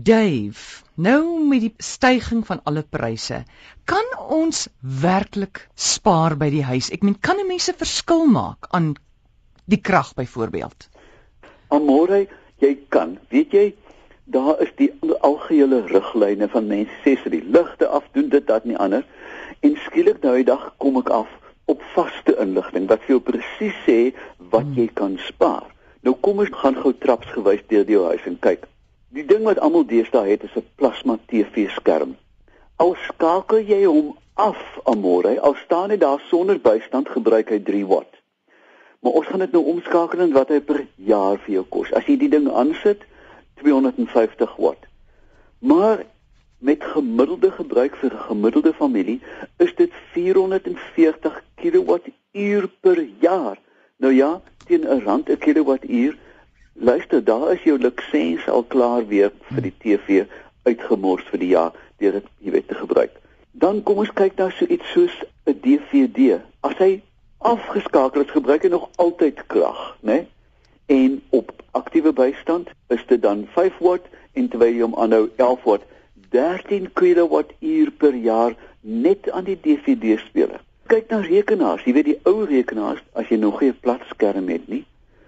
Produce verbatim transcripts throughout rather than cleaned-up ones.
Dave, nou met die styging van alle pryse, kan ons werklik spaar by die huis? Ek meen, kan 'n mens 'n verskil maak aan die krag byvoorbeeld? Amore, jy kan. Weet jy, daar is die algehele riglyne van mense sê sy die ligte afdoen, dit, dat, nie ander. En skielik nou die dag kom ek af op vaste inligting, wat vir jou presies sê wat hmm. jy kan spaar. Nou kom ons gaan gou trapsgewys deur die huis en kyk. Die ding wat almal deesdae het is 'n plasma T V-skerm. Al skakel jy hom af, Amore, al staan hy daar sonder bystand, gebruik hy drie watt. Maar ons gaan dit nou omskakel in wat hy per jaar vir jou kos. As jy die ding aansit, tweehonderdvyftig watt. Maar met gemiddelde gebruik vir 'n gemiddelde familie is dit vierhonderdveertig kilowattuur per jaar. Nou ja, teen 'n rand 'n kilowattuur. Luister, daar is jou lisensie al klaar weer vir die T V uitgemors vir die jaar deur dit, jy weet, te gebruik. Dan kom ons kyk na so iets soos 'n D V D. As hy afgeskakel is, gebruik hy nog altyd krag, né? En op aktiewe bystand is dit dan vyf watt en terwyl jy hom aanhou elf watt, dertien kilowattuur per jaar net aan die D V D-speler. Kyk na rekenaars, jy weet die ou rekenaars, as jy nog geen plat skerm het nie,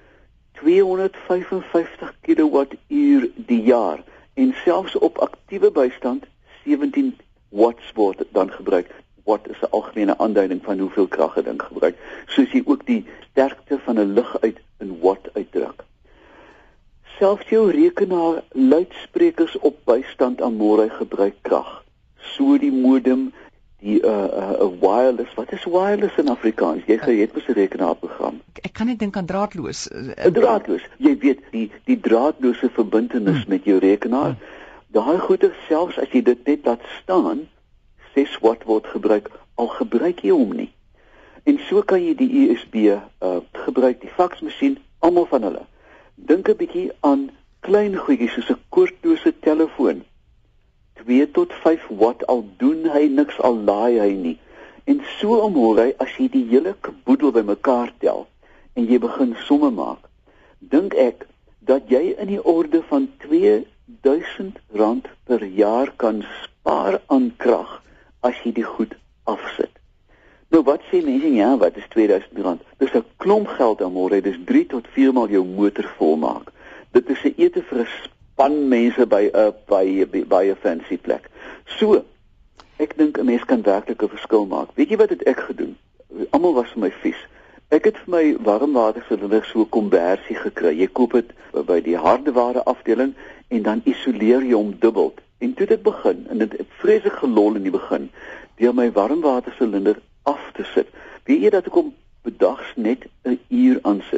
tweehonderdvyfenvyftig kilowattuur die jaar en selfs op aktiewe bystand sewentien watts word dan gebruik. Watt is 'n algemene aanduiding van hoeveel krag 'n ding gebruik, soos jy ook die sterkte van 'n lig uit in watt uitdruk. Selfs jou rekenaar luidsprekers op bystand Amore gebruik krag. So die modem, die uh, uh, wireless, wat is wireless in Afrikaans? Jy het mos 'n rekenaarprogram. Ek kan net dink aan draadloos. Uh, draadloos. Jy weet die die draadlose verbintenis hmm. met jou rekenaar. Hmm. Daai goeie, selfs as jy dit net laat staan, ses watt word gebruik, al gebruik jy hom nie. En so kan jy die U S B uh, gebruik, die faksmasjien, almal van hulle. Dink 'n bietjie aan klein goedjies soos 'n koordlose telefoon. twee tot vyf watt, al doen hy niks, al laai hy nie. En so Amore, as jy die hele boedel bymekaar tel en jy begin somme maak, dink ek dat jy in die orde van twee duisend rand per jaar kan spaar aan krag as jy die goed afsit. Nou wat sê mense, ja, wat is twee duisend rand? Dis 'n klomp geld Amore, dis drie tot vier maal jou motor volmaak. Dit is 'n ete vir 'n span mense by 'n by by 'n fancy plek. So, ek dink 'n mens kan werklik 'n verskil maak. Weet jy wat het ek gedoen? Almal was vir my vies. Ek het vir my warmwatersilinder so 'n konversie gekry. Jy koop dit by die hardeware afdeling en dan isoleer jy hom dubbel. En toe dit begin, en dit het vreeslik gelol in die begin, deur my warmwatersilinder af te sit. Weet jy dat ek hom bedags net 'n uur aansit?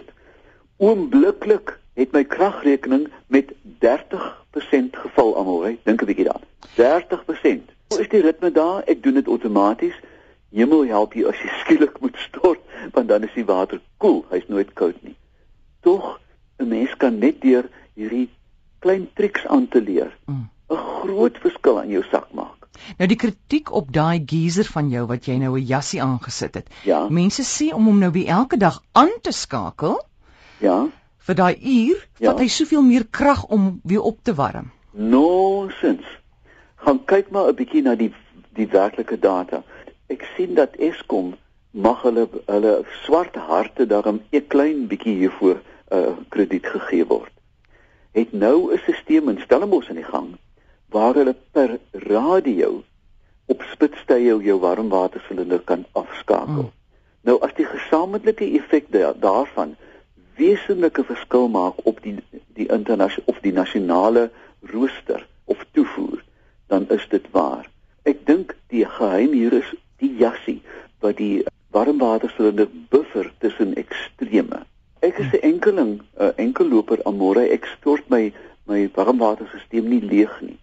Oombliklik het my kragrekening met dertig persent geval, Amore. Dink 'n bietjie daaraan. dertig persent. Hoe is die ritme daar? Ek doen dit outomaties. Hemel help jy as jy skielik moet stort, want dan is die water koel, hy's nooit koud nie. Tog, 'n mens kan net deur hierdie klein triks aan te leer, 'n mm. groot verskil aan jou sak maak. Nou die kritiek op daai geyser van jou wat jy nou 'n jassie aangesit het. Ja. Mense sê om hom nou weer elke dag aan te skakel. Ja. Vir daai uur, ja. vat hy soveel meer krag om weer op te warm. Nonsens. Gaan kyk maar 'n bietjie na die die werklike data. Ek sien dat Eskom mag hulle hulle swart harte daarom 'n klein bietjie hiervoor uh, krediet gegee word. Het nou 'n stelsel in Stellenbosch aan die gang waar hulle per radio op spitstye jou warmwatersilinder kan afskakel. Mm. Nou as die gesamentlike effek da daarvan wesenlike verskil maak op die die internasionale of die nasionale rooster of toevoer, dan is dit waar. Ek dink die geheim hier is die jassie wat die warmwatersilinder buffer tussen extreme. Ek is 'n enkeling, 'n enkelloper Amore, ek stort my my warmwaterstelsel nie leeg nie.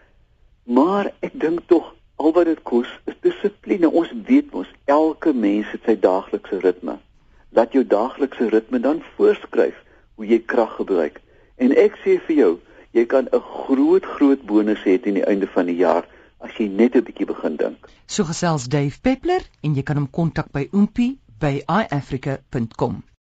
Maar ek dink tog al wat dit kos is dissipline. Ons weet mos elke mens het sy daaglikse ritme. Laat jou daaglikse ritme dan voorskryf hoe jy krag gebruik. En ek sê vir jou, jy kan 'n groot groot bonus hê teen die einde van die jaar as jy net 'n bietjie begin dink. So gesels Dave Peppler en jy kan hom kontak by oompie by i africa punt com.